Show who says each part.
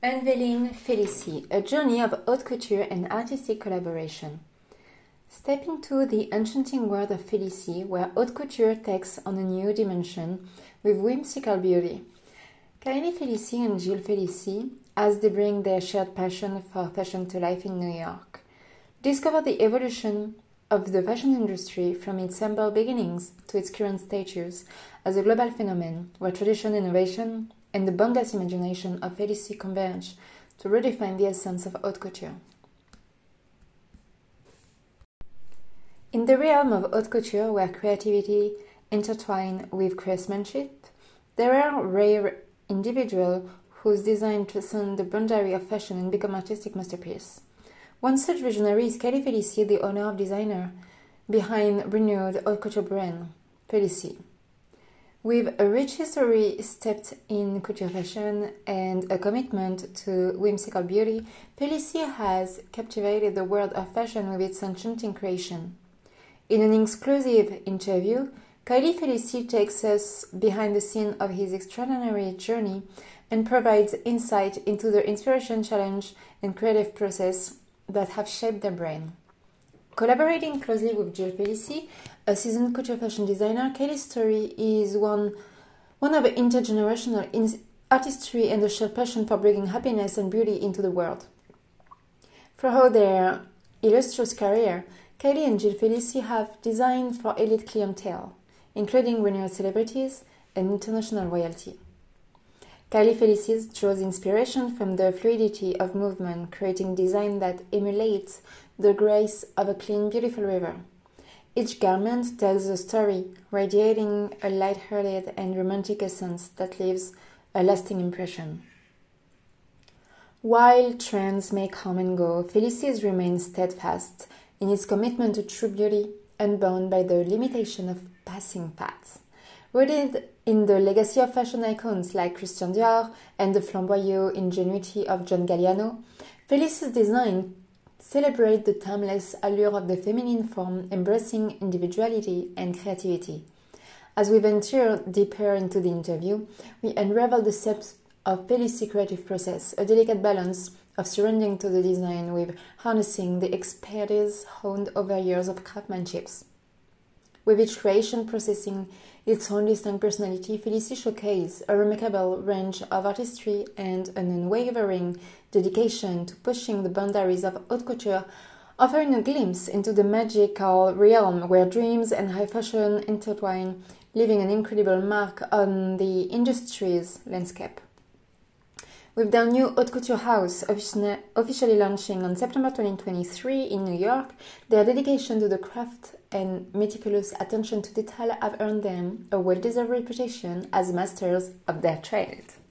Speaker 1: Unveiling Félicie, a journey of haute couture and artistic collaboration. Step into the enchanting world of Félicie, where haute couture takes on a new dimension with whimsical beauty. Kylie Félicie and Gilles Félicie, as they bring their shared passion for fashion to life in New York, discover the evolution of the fashion industry from its humble beginnings to its current status as a global phenomenon, where tradition, innovation, and the boundless imagination of Félicie converge to redefine the essence of haute couture. In the realm of haute couture, where creativity intertwines with craftsmanship, there are rare individuals whose design transcend the boundary of fashion and become artistic masterpieces. One such visionary is Kylie Félicie, the owner of designer behind renowned haute couture brand, Félicie. With a rich history steeped in couture fashion and a commitment to whimsical beauty, Félicie has captivated the world of fashion with its enchanting creation. In an exclusive interview, Kylie Félicie takes us behind the scene of his extraordinary journey and provides insight into the inspiration, challenge, and creative process that have shaped their brand. Collaborating closely with Gilles Félicie, a seasoned couture fashion designer, Kylie's story is one of intergenerational artistry and a shared passion for bringing happiness and beauty into the world. Throughout their illustrious career, Kylie and Gilles Félicie have designed for elite clientele, including renowned celebrities and international royalty. Kylie Félicie draws inspiration from the fluidity of movement, creating design that emulates the grace of a clean, beautiful river. Each garment tells a story, radiating a light-hearted and romantic essence that leaves a lasting impression. While trends may come and go, Félicie remains steadfast in its commitment to true beauty, unbound by the limitation of passing fads. Rooted in the legacy of fashion icons like Christian Dior and the flamboyant ingenuity of John Galliano, Félicie's design celebrate the timeless allure of the feminine form, embracing individuality and creativity. As we venture deeper into the interview, we unravel the steps of Félicie's creative process, a delicate balance of surrendering to the design with harnessing the expertise honed over years of craftsmanship. With each creation possessing its own distinct personality, Félicie showcases a remarkable range of artistry and an unwavering dedication to pushing the boundaries of haute couture, offering a glimpse into the magical realm where dreams and high fashion intertwine, leaving an incredible mark on the industry's landscape. With their new haute couture house officially launching on September 2023 in New York, their dedication to the craft and meticulous attention to detail have earned them a well-deserved reputation as masters of their trade.